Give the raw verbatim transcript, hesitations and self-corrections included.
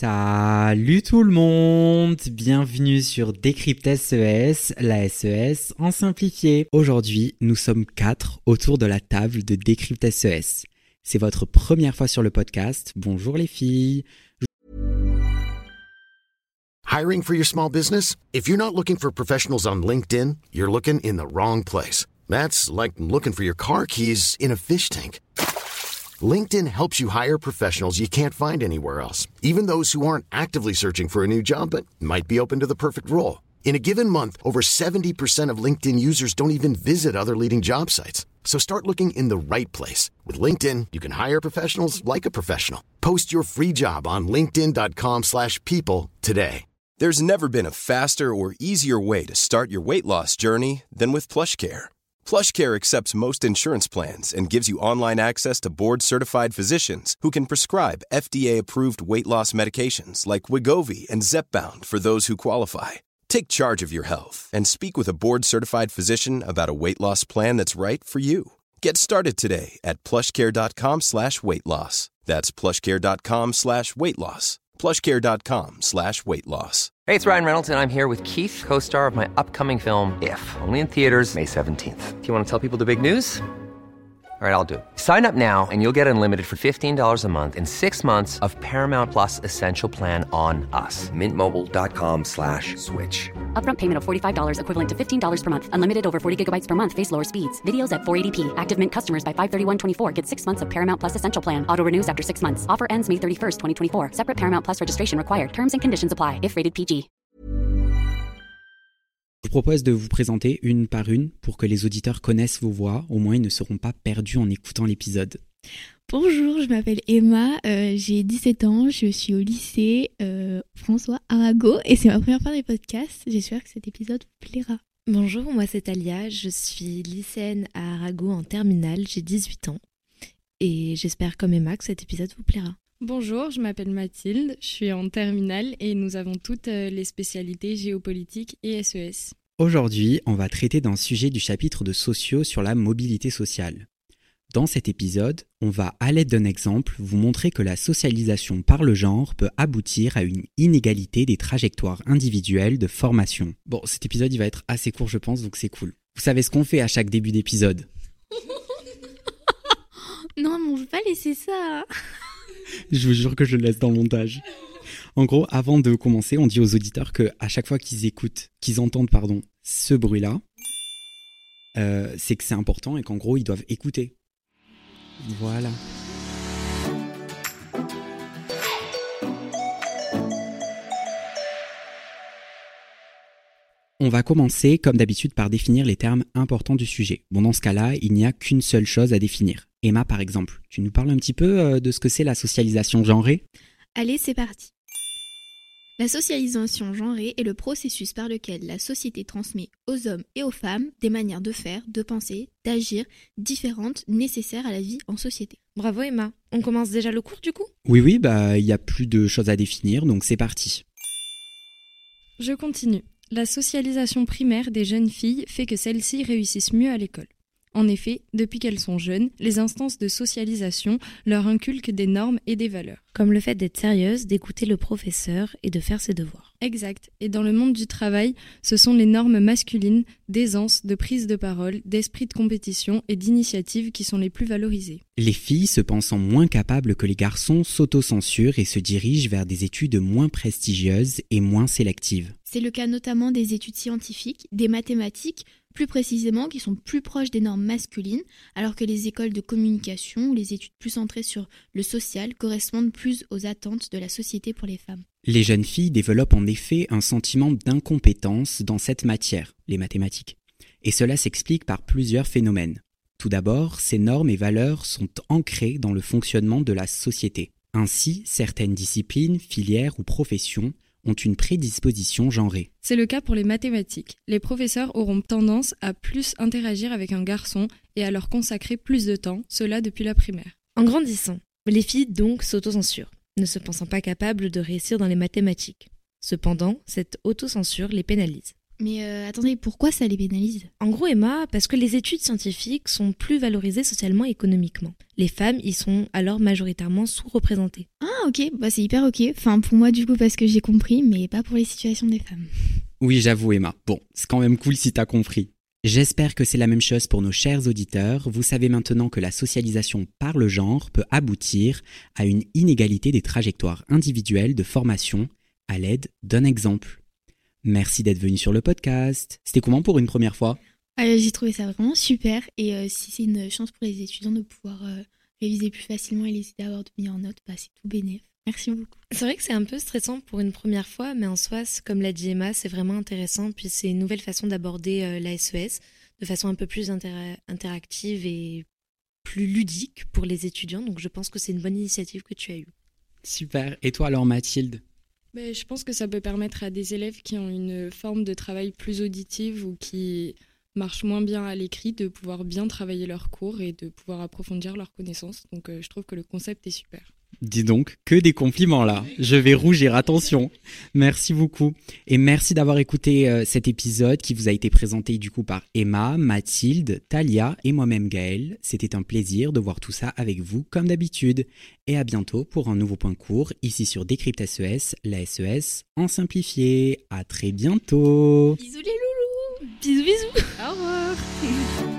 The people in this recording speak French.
Salut tout le monde, bienvenue sur Décrypte S E S, la S E S en simplifié. Aujourd'hui, nous sommes quatre autour de la table de Décrypte S E S. C'est votre première fois sur le podcast, bonjour les filles. Hiring for your small business? If you're not looking for professionals on LinkedIn, you're looking in the wrong place. That's like looking for your car keys in a fish tank. LinkedIn helps you hire professionals you can't find anywhere else, even those who aren't actively searching for a new job but might be open to the perfect role. In a given month, over seventy percent of LinkedIn users don't even visit other leading job sites. So start looking in the right place. With LinkedIn, you can hire professionals like a professional. Post your free job on linkedin.com slash people today. There's never been a faster or easier way to start your weight loss journey than with PlushCare. PlushCare accepts most insurance plans and gives you online access to board-certified physicians who can prescribe F D A-approved weight loss medications like Wegovy and Zepbound for those who qualify. Take charge of your health and speak with a board-certified physician about a weight loss plan that's right for you. Get started today at plushcare.com slash weight loss. That's plushcare.com slash weight loss. plushcare.com slash weight loss. Hey, it's Ryan Reynolds, and I'm here with Keith, co-star of my upcoming film, If, only in theaters May seventeenth. Do you want to tell people the big news? All right, I'll do it. Sign up now and you'll get unlimited for fifteen dollars a month and six months of Paramount Plus Essential Plan on us. Mint Mobile dot com slash switch. Upfront payment of forty-five dollars equivalent to fifteen dollars per month. Unlimited over forty gigabytes per month. Face lower speeds. Videos at four eighty p. Active Mint customers by five thirty-one twenty-four get six months of Paramount Plus Essential Plan. Auto renews after six months. Offer ends May thirty-first, twenty twenty-four. Separate Paramount Plus registration required. Terms and conditions apply if rated P G. Je vous propose de vous présenter une par une pour que les auditeurs connaissent vos voix, au moins ils ne seront pas perdus en écoutant l'épisode. Bonjour, je m'appelle Emma, euh, j'ai dix-sept ans, je suis au lycée euh, François Arago et c'est ma première fois dans les podcasts. J'espère que cet épisode vous plaira. Bonjour, moi c'est Talia, je suis lycéenne à Arago en terminale, j'ai dix-huit ans et j'espère comme Emma que cet épisode vous plaira. Bonjour, je m'appelle Mathilde, je suis en terminale et nous avons toutes les spécialités géopolitique et S E S. Aujourd'hui, on va traiter d'un sujet du chapitre de sociaux sur la mobilité sociale. Dans cet épisode, on va, à l'aide d'un exemple, vous montrer que la socialisation par le genre peut aboutir à une inégalité des trajectoires individuelles de formation. Bon, cet épisode il va être assez court je pense, donc c'est cool. Vous savez ce qu'on fait à chaque début d'épisode? Non, mais on ne veut pas laisser ça. Je vous jure que je le laisse dans le montage. En gros, avant de commencer, on dit aux auditeurs que à chaque fois qu'ils écoutent, qu'ils entendent pardon, ce bruit-là, euh, c'est que c'est important et qu'en gros, ils doivent écouter. Voilà. On va commencer, comme d'habitude, par définir les termes importants du sujet. Bon, dans ce cas-là, il n'y a qu'une seule chose à définir. Emma, par exemple, tu nous parles un petit peu de ce que c'est la socialisation genrée ? Allez, c'est parti. La socialisation genrée est le processus par lequel la société transmet aux hommes et aux femmes des manières de faire, de penser, d'agir différentes nécessaires à la vie en société. Bravo Emma, on commence déjà le cours du coup ? Oui, oui, bah il n'y a plus de choses à définir, donc c'est parti. Je continue. La socialisation primaire des jeunes filles fait que celles-ci réussissent mieux à l'école. En effet, depuis qu'elles sont jeunes, les instances de socialisation leur inculquent des normes et des valeurs. Comme le fait d'être sérieuse, d'écouter le professeur et de faire ses devoirs. Exact. Et dans le monde du travail, ce sont les normes masculines d'aisance, de prise de parole, d'esprit de compétition et d'initiative qui sont les plus valorisées. Les filles, se pensant moins capables que les garçons, s'autocensurent et se dirigent vers des études moins prestigieuses et moins sélectives. C'est le cas notamment des études scientifiques, des mathématiques, plus précisément qui sont plus proches des normes masculines, alors que les écoles de communication ou les études plus centrées sur le social correspondent plus aux attentes de la société pour les femmes. Les jeunes filles développent en effet un sentiment d'incompétence dans cette matière, les mathématiques. Et cela s'explique par plusieurs phénomènes. Tout d'abord, ces normes et valeurs sont ancrées dans le fonctionnement de la société. Ainsi, certaines disciplines, filières ou professions ont une prédisposition genrée. C'est le cas pour les mathématiques. Les professeurs auront tendance à plus interagir avec un garçon et à leur consacrer plus de temps, cela depuis la primaire. En grandissant, les filles donc s'autocensurent, ne se pensant pas capables de réussir dans les mathématiques. Cependant, cette autocensure les pénalise. Mais euh, attendez, pourquoi ça les pénalise ? En gros, Emma, parce que les études scientifiques sont plus valorisées socialement et économiquement. Les femmes y sont alors majoritairement sous-représentées. Ah ok, bah c'est hyper ok. Enfin pour moi du coup parce que j'ai compris, mais pas pour les situations des femmes. Oui, j'avoue Emma. Bon, c'est quand même cool si t'as compris. J'espère que c'est la même chose pour nos chers auditeurs. Vous savez maintenant que la socialisation par le genre peut aboutir à une inégalité des trajectoires individuelles de formation à l'aide d'un exemple. Merci d'être venu sur le podcast. C'était comment pour une première fois ? euh, J'ai trouvé ça vraiment super et euh, si c'est une chance pour les étudiants de pouvoir euh, réviser plus facilement et les aider à avoir de meilleures notes, bah, c'est tout bénef. Merci beaucoup. C'est vrai que c'est un peu stressant pour une première fois, mais en soi, comme l'a dit Emma, c'est vraiment intéressant. Puis c'est une nouvelle façon d'aborder euh, la S E S de façon un peu plus inter- interactive et plus ludique pour les étudiants. Donc je pense que c'est une bonne initiative que tu as eue. Super. Et toi alors Mathilde ? Ben, je pense que ça peut permettre à des élèves qui ont une forme de travail plus auditive ou qui marchent moins bien à l'écrit de pouvoir bien travailler leurs cours et de pouvoir approfondir leurs connaissances. Donc euh, je trouve que le concept est super. Dis donc, que des compliments là. Je vais rougir, attention. Merci beaucoup. Et merci d'avoir écouté euh, cet épisode qui vous a été présenté du coup par Emma, Mathilde, Talia et moi-même Gaël. C'était un plaisir de voir tout ça avec vous comme d'habitude. Et à bientôt pour un nouveau point court ici sur Décrypte S E S, la S E S en simplifié. À très bientôt. Bisous les loulous. Bisous bisous. Au revoir.